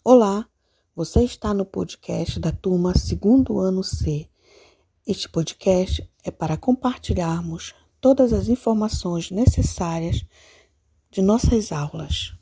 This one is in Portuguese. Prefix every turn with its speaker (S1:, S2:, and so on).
S1: Olá, você está no podcast da turma 2º ano C. Este podcast é para compartilharmos todas as informações necessárias de nossas aulas.